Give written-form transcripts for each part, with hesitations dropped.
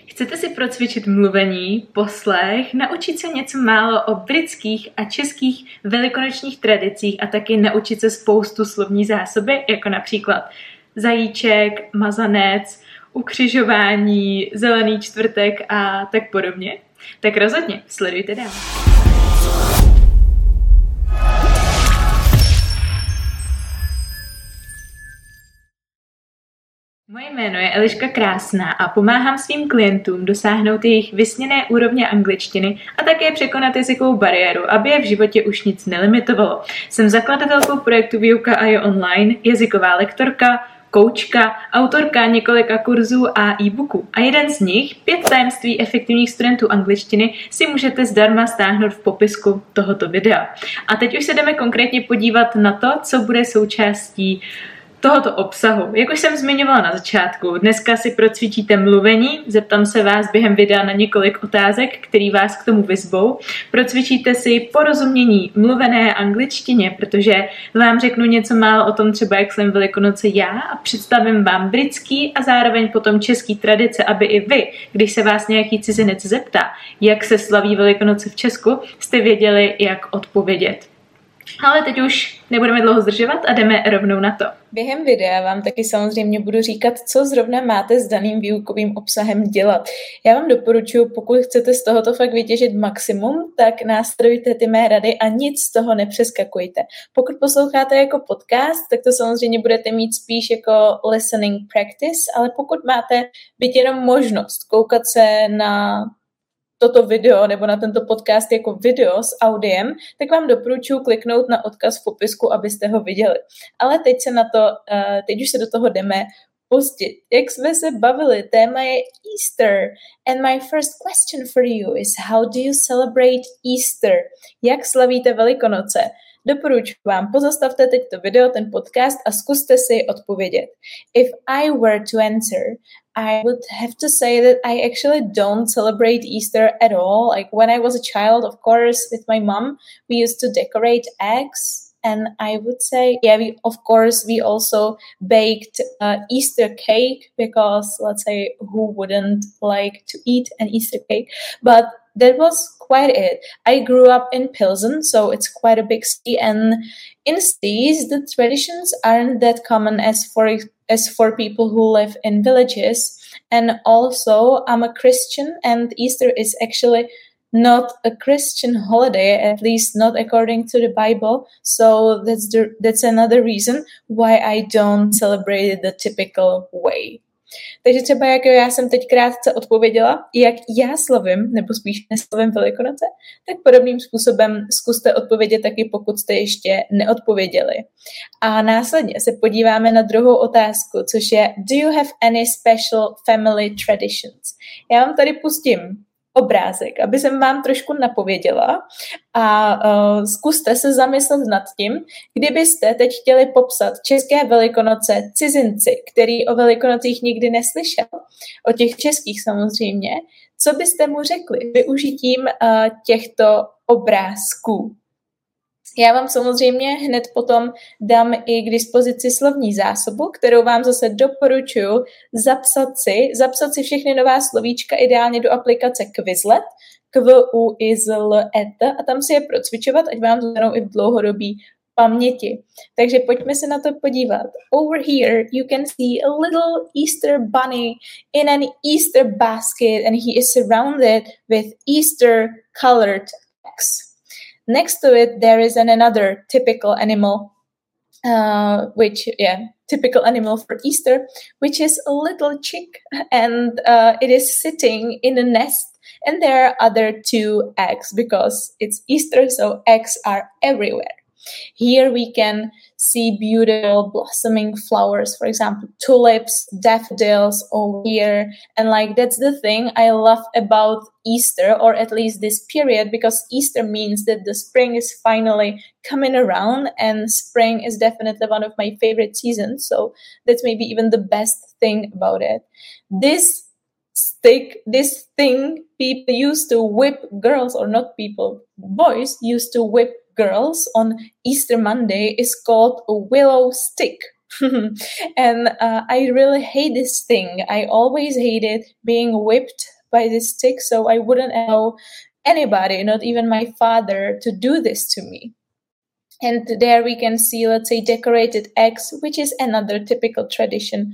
Chcete si procvičit mluvení, poslech, naučit se něco málo o britských a českých velikonočních tradicích a taky naučit se spoustu slovní zásoby, jako například zajíček, mazanec, ukřižování, zelený čtvrtek a tak podobně? Tak rozhodně, sledujte dál. Moje jméno je Eliška Krásná a pomáhám svým klientům dosáhnout jejich vysněné úrovně angličtiny a také překonat jazykovou bariéru, aby je v životě už nic nelimitovalo. Jsem zakladatelkou projektu Výuka a je online, jazyková lektorka, koučka, autorka několika kurzů a e-booků. A jeden z nich, 5 tajemství efektivních studentů angličtiny, si můžete zdarma stáhnout v popisku tohoto videa. A teď už se jdeme konkrétně podívat na to, co bude součástí tohoto obsahu. Jak už jsem zmiňovala na začátku, dneska si procvičíte mluvení, zeptám se vás během videa na několik otázek, které vás k tomu vyzvou. Procvičíte si porozumění mluvené angličtině, protože vám řeknu něco málo o tom třeba, jak jsem Velikonoce já a představím vám britský a zároveň potom český tradice, aby i vy, když se vás nějaký cizinec zeptá, jak se slaví Velikonoce v Česku, jste věděli, jak odpovědět. Ale teď už nebudeme dlouho zdržovat a jdeme rovnou na to. Během videa vám taky samozřejmě budu říkat, co zrovna máte s daným výukovým obsahem dělat. Já vám doporučuji, pokud chcete z tohoto fakt vytěžit maximum, tak následujte ty mé rady a nic z toho nepřeskakujte. Pokud posloucháte jako podcast, tak to samozřejmě budete mít spíš jako listening practice, ale pokud máte byť jenom možnost koukat se na toto video nebo na tento podcast jako video s audiem, tak vám doporučuji kliknout na odkaz v popisku, abyste ho viděli. Ale teď už se do toho jdeme pustit. Jak jsme se bavili, téma je Easter. And my first question for you is, how do you celebrate Easter? Jak slavíte Velikonoce? Doporučuji vám, pozastavte teď to video, ten podcast a zkuste si odpovědět. If I were to answer, I would have to say that I actually don't celebrate Easter at all. Like when I was a child, of course, with my mom, we used to decorate eggs. And I would say, we also baked Easter cake because, let's say, who wouldn't like to eat an Easter cake? But that was quite it. I grew up in Pilsen, so it's quite a big city. And in cities, the traditions aren't that common as for people who live in villages. And also, I'm a Christian, and Easter is actually not a Christian holiday, at least not according to the Bible. So that's another reason why I don't celebrate it the typical way. Takže třeba jak já jsem teď krátce odpověděla, jak já slavím, nebo spíš neslavím Velikonoce, tak podobným způsobem zkuste odpovědět taky, pokud jste ještě neodpověděli. A následně se podíváme na druhou otázku, což je do you have any special family traditions? Já vám tady pustím obrázek, aby jsem vám trošku napověděla a zkuste se zamyslet nad tím, kdybyste teď chtěli popsat české Velikonoce cizinci, který o Velikonocích nikdy neslyšel, o těch českých samozřejmě, co byste mu řekli využitím těchto obrázků? Já vám samozřejmě hned potom dám i k dispozici slovní zásobu, kterou vám zase doporučuji zapsat si všechny nová slovíčka ideálně do aplikace Quizlet, Quizlet, a tam si je procvičovat, ať vám zůstanou i v dlouhodobí paměti. Takže pojďme se na to podívat. Over here you can see a little Easter bunny in an Easter basket and he is surrounded with Easter colored eggs. Next to it, there is another typical animal, typical animal for Easter, which is a little chick, and it is sitting in a nest, and there are other 2 eggs because it's Easter, so eggs are everywhere. Here we can see beautiful blossoming flowers, for example, tulips, daffodils over here. And that's the thing I love about Easter, or at least this period, because Easter means that the spring is finally coming around, and spring is definitely one of my favorite seasons. So that's maybe even the best thing about it. This thing people used to whip girls, or not people, boys used to whip girls on Easter Monday is called a willow stick. And I really hate this thing. I always hated being whipped by this stick, so I wouldn't allow anybody, not even my father, to do this to me. And there we can see, let's say, decorated eggs, which is another typical tradition,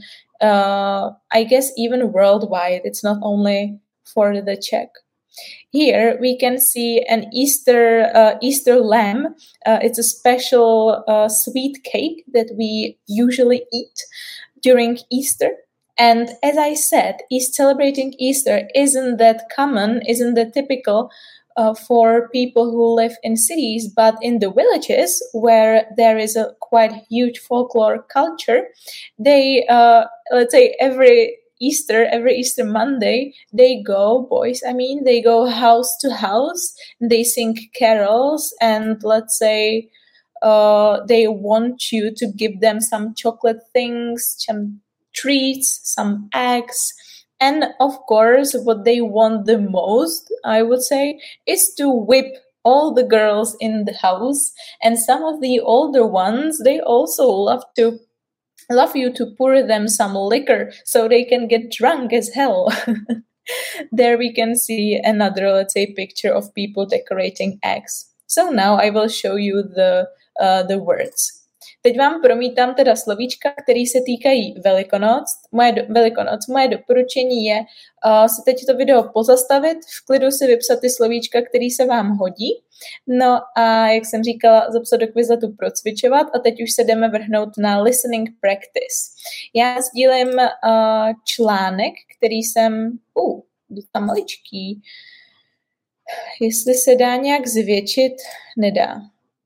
I guess even worldwide. It's not only for the Czech. Here we can see an Easter lamb. It's a special sweet cake that we usually eat during Easter. And as I said, celebrating Easter isn't that common, isn't that typical for people who live in cities, but in the villages where there is a quite huge folklore culture, they, let's say every Easter Monday, they go house to house, they sing carols, and let's say they want you to give them some chocolate things, some treats, some eggs. And of course, what they want the most, I would say, is to whip all the girls in the house. And some of the older ones, they also love you to pour them some liquor so they can get drunk as hell. There we can see another, let's say, picture of people decorating eggs. So now I will show you the words. Teď vám promítám teda slovíčka, které se týkají Velikonoc. Moje doporučení je si teď to video pozastavit, v klidu si vypsat ty slovíčka, které se vám hodí. No a jak jsem říkala, zapsat do Quizletu procvičovat a teď už se jdeme vrhnout na listening practice. Já sdílím článek, který jsem... tam maličký. Jestli se dá nějak zvětšit, nedá.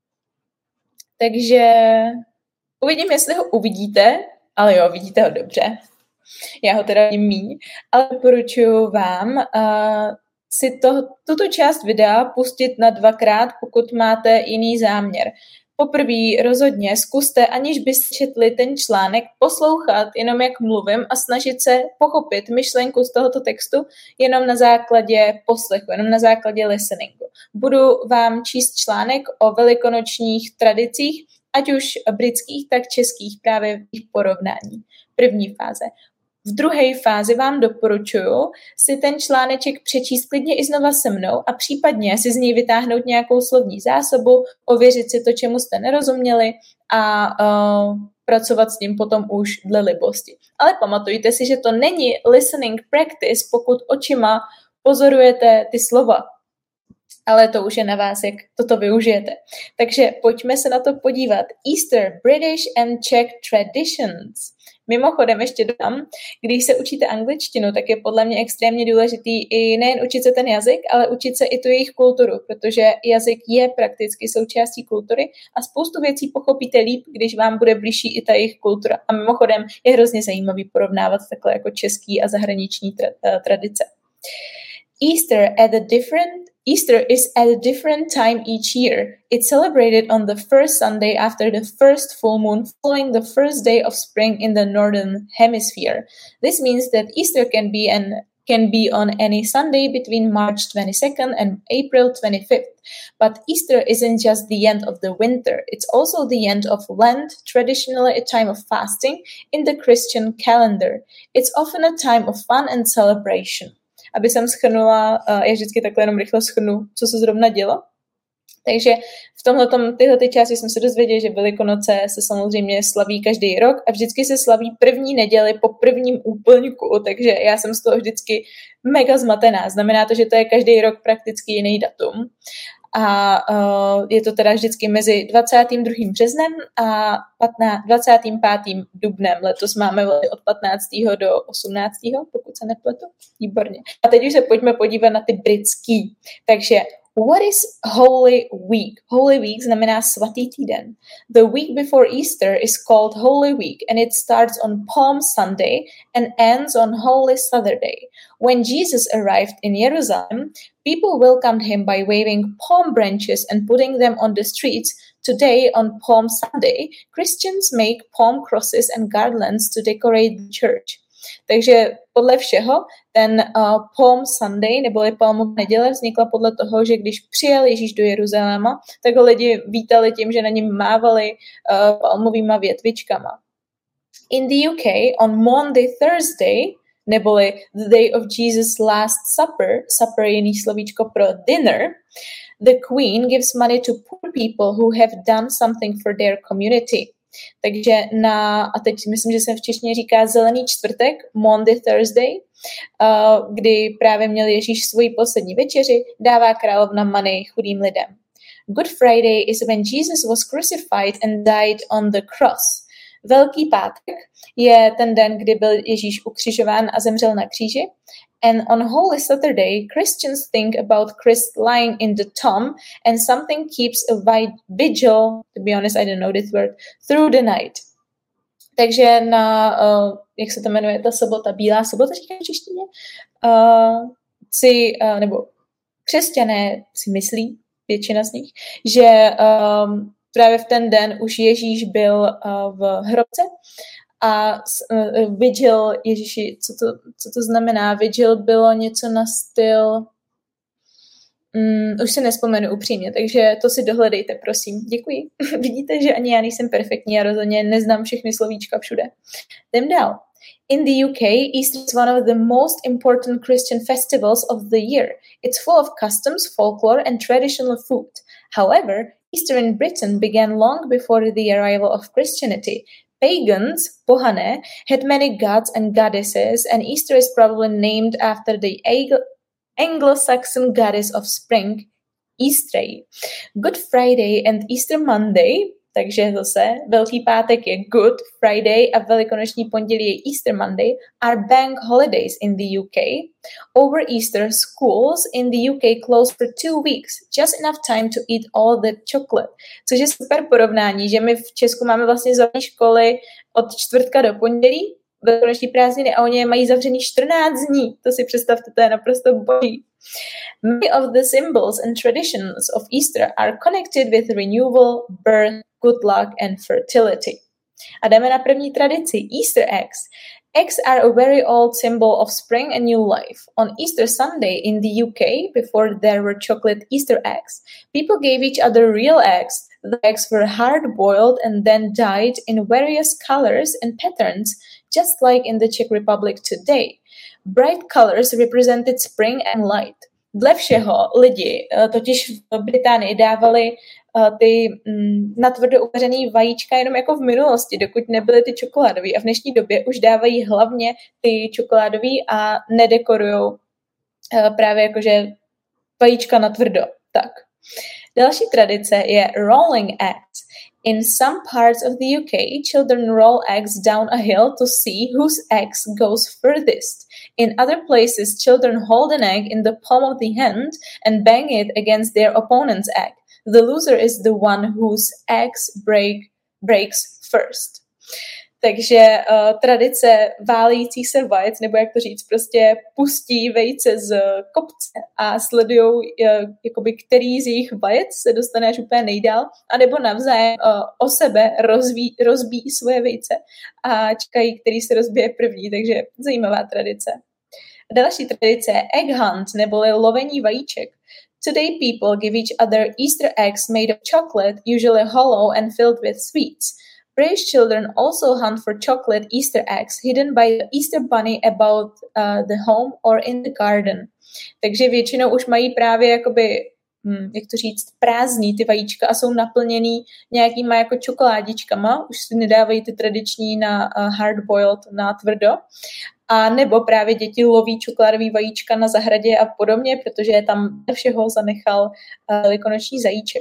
Takže uvidím, jestli ho uvidíte, ale jo, vidíte ho dobře. Já ho teda vidím míň, ale doporučuji vám si tuto část videa pustit na 2krát, pokud máte jiný záměr. Poprvé rozhodně zkuste, aniž byste četli ten článek, poslouchat jenom jak mluvím a snažit se pochopit myšlenku z tohoto textu jenom na základě poslechu, jenom na základě listeningu. Budu vám číst článek o velikonočních tradicích, ať už britských, tak českých, právě v jejich porovnání. První fáze. V druhé fázi vám doporučuji si ten článeček přečíst klidně i znova se mnou a případně si z něj vytáhnout nějakou slovní zásobu, ověřit si to, čemu jste nerozuměli a pracovat s ním potom už dle libosti. Ale pamatujte si, že to není listening practice, pokud očima pozorujete ty slova. Ale to už je na vás, jak toto využijete. Takže pojďme se na to podívat. Easter, British and Czech traditions. Mimochodem ještě dodám, když se učíte angličtinu, tak je podle mě extrémně důležitý i nejen učit se ten jazyk, ale učit se i tu jejich kulturu, protože jazyk je prakticky součástí kultury a spoustu věcí pochopíte líp, když vám bude blížší i ta jejich kultura. A mimochodem je hrozně zajímavý porovnávat takhle jako český a zahraniční tradice. Easter is at a different time each year. It's celebrated on the first Sunday after the first full moon following the first day of spring in the northern hemisphere. This means that Easter can be on any Sunday between March 22nd and April 25th. But Easter isn't just the end of the winter. It's also the end of Lent, traditionally a time of fasting in the Christian calendar. It's often a time of fun and celebration. Aby jsem shrnula, já vždycky takhle jenom rychle shrnu, co se zrovna dělo. Takže v tyhle části jsme se dozvěděli, že Velikonoce se samozřejmě slaví každý rok a vždycky se slaví první neděli po prvním úplňku, takže já jsem z toho vždycky mega zmatená. Znamená to, že to je každý rok prakticky jiný datum. A je to teda vždycky mezi 22. březnem a 25. dubnem. Letos máme od 15. do 18. pokud se nepletu. Výborně. A teď už se pojďme podívat na ty britský. Takže what is Holy Week? Holy Week znamená svatý týden. The week before Easter is called Holy Week and it starts on Palm Sunday and ends on Holy Saturday. When Jesus arrived in Jerusalem, people welcomed him by waving palm branches and putting them on the streets. Today, on Palm Sunday, Christians make palm crosses and garlands to decorate the church. Takže podle všeho ten Palm Sunday, neboli Palmová neděle, vznikla podle toho, že když přijel Ježíš do Jeruzaléma, tak ho lidi vítali tím, že na něm mávali palmovýma větvičkama. In the UK, on Maundy Thursday, neboli the day of Jesus' last supper, supper je jiný slovíčko pro dinner, the queen gives money to poor people who have done something for their community. Takže a teď myslím, že se v češtině říká zelený čtvrtek, Maundy Thursday, kdy právě měl Ježíš svoji poslední večeři, dává královna money chudým lidem. Good Friday is when Jesus was crucified and died on the cross. Velký pátek je ten den, kdy byl Ježíš ukřižován a zemřel na kříži. And on Holy Saturday, Christians think about Christ lying in the tomb and something keeps a vigil, to be honest, I don't know this word, through the night. Takže jak se to jmenuje, ta sobota, bílá sobota, říkám v češtině, nebo křesťané si myslí, většina z nich, že právě v ten den už Ježíš byl v hrobce a vigil, Ježíši, co to znamená? Vigil bylo něco na styl, už si nespomenu upřímně, takže to si dohledejte, prosím. Děkuji. Vidíte, že ani já nejsem perfektní a rozhodně neznám všechny slovíčka všude. Jdem dál. In the UK, Easter is one of the most important Christian festivals of the year. It's full of customs, folklore, and traditional food. However, Easter in Britain began long before the arrival of Christianity. Pagans, pohané, had many gods and goddesses, and Easter is probably named after the Anglo-Saxon goddess of spring, Easter. Good Friday and Easter Monday, takže zase Velký pátek je Good Friday a Velikonoční pondělí je Easter Monday, are bank holidays in the UK. Over Easter, schools in the UK close for 2 weeks, just enough time to eat all the chocolate. Což je super porovnání, že my v Česku máme vlastně zavřené školy od čtvrtka do pondělí, velikonoční prázdniny a oni mají zavřený 14 dní. To si představte, to je naprosto boží. Many of the symbols and traditions of Easter are connected with renewal, birth, good luck and fertility. A jdeme na první tradici, Easter eggs. Eggs are a very old symbol of spring and new life. On Easter Sunday in the UK, before there were chocolate Easter eggs, people gave each other real eggs. The eggs were hard-boiled and then dyed in various colors and patterns, just like in the Czech Republic today. Bright colors represented spring and light. Dle všeho lidi totiž v Británii dávali ty natvrdo uvařený vajíčka jenom jako v minulosti, dokud nebyly ty čokoládový. A v dnešní době už dávají hlavně ty čokoládový a nedekorujou právě jakože vajíčka natvrdo. Tak. Další tradice je rolling eggs. In some parts of the UK, children roll eggs down a hill to see whose eggs goes furthest. In other places, children hold an egg in the palm of the hand and bang it against their opponent's egg. The loser is the one whose eggs breaks first. Takže tradice válejících se vajec, nebo jak to říct, prostě pustí vejce z kopce a sledujou, jakoby, který z jejich vajec se dostane až úplně nejdál, anebo navzájem o sebe rozbíjí svoje vejce a čekají, který se rozbije první, takže zajímavá tradice. Další tradice je egg hunt, neboli lovení vajíček. Today people give each other Easter eggs made of chocolate, usually hollow and filled with sweets. British children also hunt for chocolate Easter eggs hidden by the Easter bunny about the home or in the garden. Takže většinou už mají právě jakoby, jak to říct, prázdní ty vajíčka a jsou naplněný nějakýma jako čokoládičkama, už si nedávají ty tradiční na hard-boiled, na tvrdo. A nebo právě děti loví čokoládový vajíčka na zahradě a podobně, protože tam všeho zanechal velikonoční zajíček.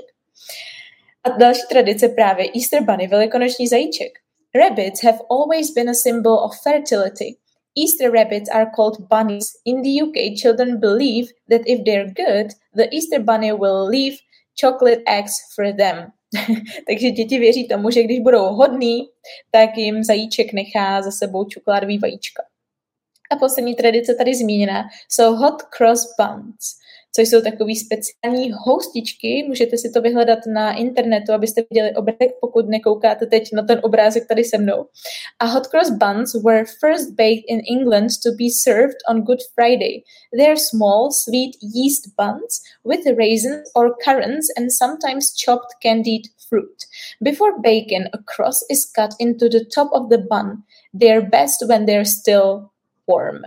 A další tradice právě Easter Bunny, velikonoční zajíček. Rabbits have always been a symbol of fertility. Easter rabbits are called bunnies. In the UK, children believe that if they're good, the Easter Bunny will leave chocolate eggs for them. Takže děti věří tomu, že když budou hodný, tak jim zajíček nechá za sebou čokoládový vajíčka. A poslední tradice tady zmíněná jsou hot cross buns, což jsou takový speciální houstičky. Můžete si to vyhledat na internetu, abyste viděli obrázek, pokud nekoukáte teď na ten obrázek tady se mnou. A hot cross buns were first baked in England to be served on Good Friday. They're small, sweet yeast buns with raisins or currants and sometimes chopped candied fruit. Before bacon, a cross is cut into the top of the bun. They're best when they're still warm.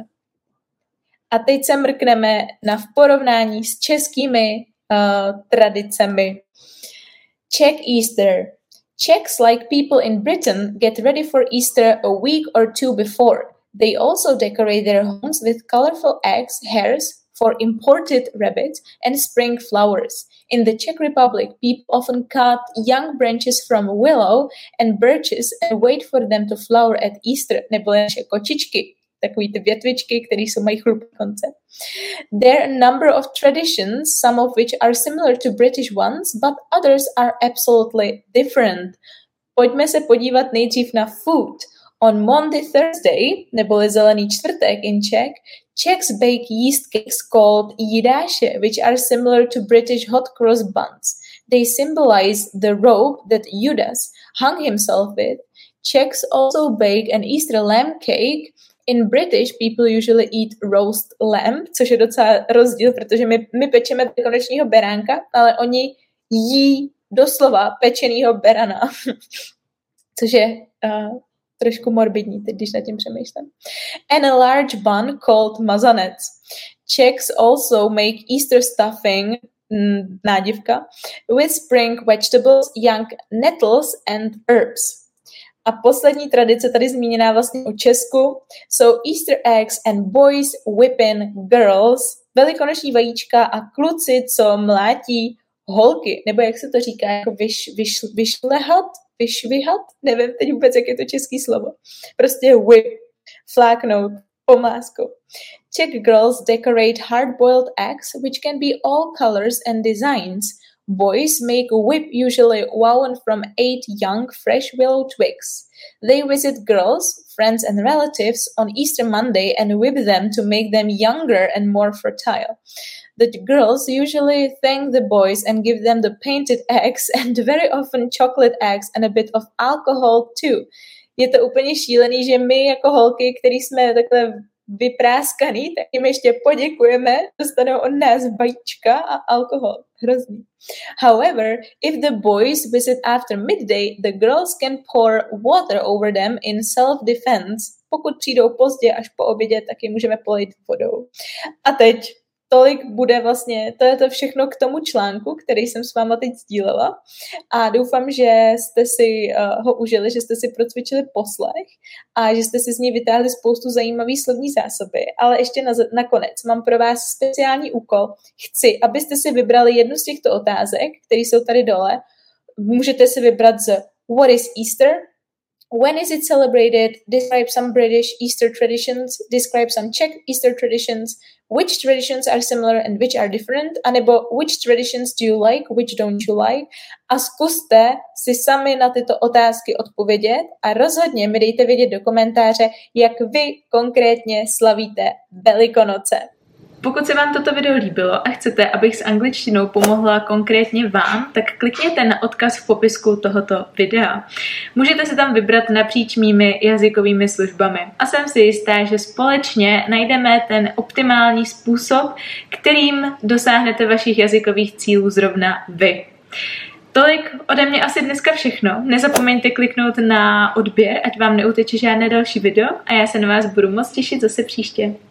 A teď se mrkneme v porovnání s českými tradicemi. Czech Easter. Czechs, like people in Britain, get ready for Easter a week or two before. They also decorate their homes with colorful eggs, hairs for imported rabbits, and spring flowers. In the Czech Republic, people often cut young branches from willow and birches and wait for them to flower at Easter, nebo naše kočičky, takový ty větvičky, které jsou mají chlupné konce. There are a number of traditions, some of which are similar to British ones, but others are absolutely different. Pojďme se podívat nejdřív na food. On Monday Thursday, neboli zelený čtvrtek in Czech, Czechs bake yeast cakes called jídáše, which are similar to British hot cross buns. They symbolize the robe that Judas hung himself with. Czechs also bake an Easter lamb cake. In British, people usually eat roast lamb, což je docela rozdíl, protože my pečeme konečního beránka, ale oni jí doslova pečenýho berana, což je trošku morbidní, teď když nad tím přemýšlím. And a large bun called mazanec. Czechs also make Easter stuffing, nádivka, with spring vegetables, young nettles and herbs. A poslední tradice tady zmíněná vlastně o Česku jsou Easter eggs and boys whipping girls, velikonoční vajíčka a kluci, co mlátí holky, nebo jak se to říká, jako vyšvihat, nevím teď vůbec, jak je to český slovo. Prostě whip, fláknout, pomláskou. Czech girls decorate hard-boiled eggs, which can be all colors and designs. Boys make a whip usually woven from 8 young, fresh willow twigs. They visit girls, friends and relatives on Easter Monday and whip them to make them younger and more fertile. The girls usually thank the boys and give them the painted eggs and very often chocolate eggs and a bit of alcohol too. Je to úplně šílený, že my jako holky, který jsme takhle vypráskaný, tak jim ještě poděkujeme, dostanou od nás vajíčka a alkohol. Hrozný. However, if the boys visit after midday, the girls can pour water over them in self-defense. Pokud přijdou pozdě až po obědě, tak je můžeme polejt vodou. A teď tolik bude vlastně, to je to všechno k tomu článku, který jsem s váma teď sdílela a doufám, že jste si ho užili, že jste si procvičili poslech a že jste si z něj vytáhli spoustu zajímavých slovní zásoby, ale ještě nakonec mám pro vás speciální úkol. Chci, abyste si vybrali jednu z těchto otázek, které jsou tady dole. Můžete si vybrat z What is Easter? When is it celebrated? Describe some British Easter traditions. Describe some Czech Easter traditions. Which traditions are similar and which are different? A nebo which traditions do you like? Which don't you like? A zkuste si sami na tyto otázky odpovědět a rozhodně mi dejte vědět do komentáře, jak vy konkrétně slavíte Velikonoce. Pokud se vám toto video líbilo a chcete, abych s angličtinou pomohla konkrétně vám, tak klikněte na odkaz v popisku tohoto videa. Můžete se tam vybrat napříč mými jazykovými službami. A jsem si jistá, že společně najdeme ten optimální způsob, kterým dosáhnete vašich jazykových cílů zrovna vy. Tolik ode mě asi dneska všechno. Nezapomeňte kliknout na odběr, ať vám neuteče žádné další video a já se na vás budu moc těšit zase příště.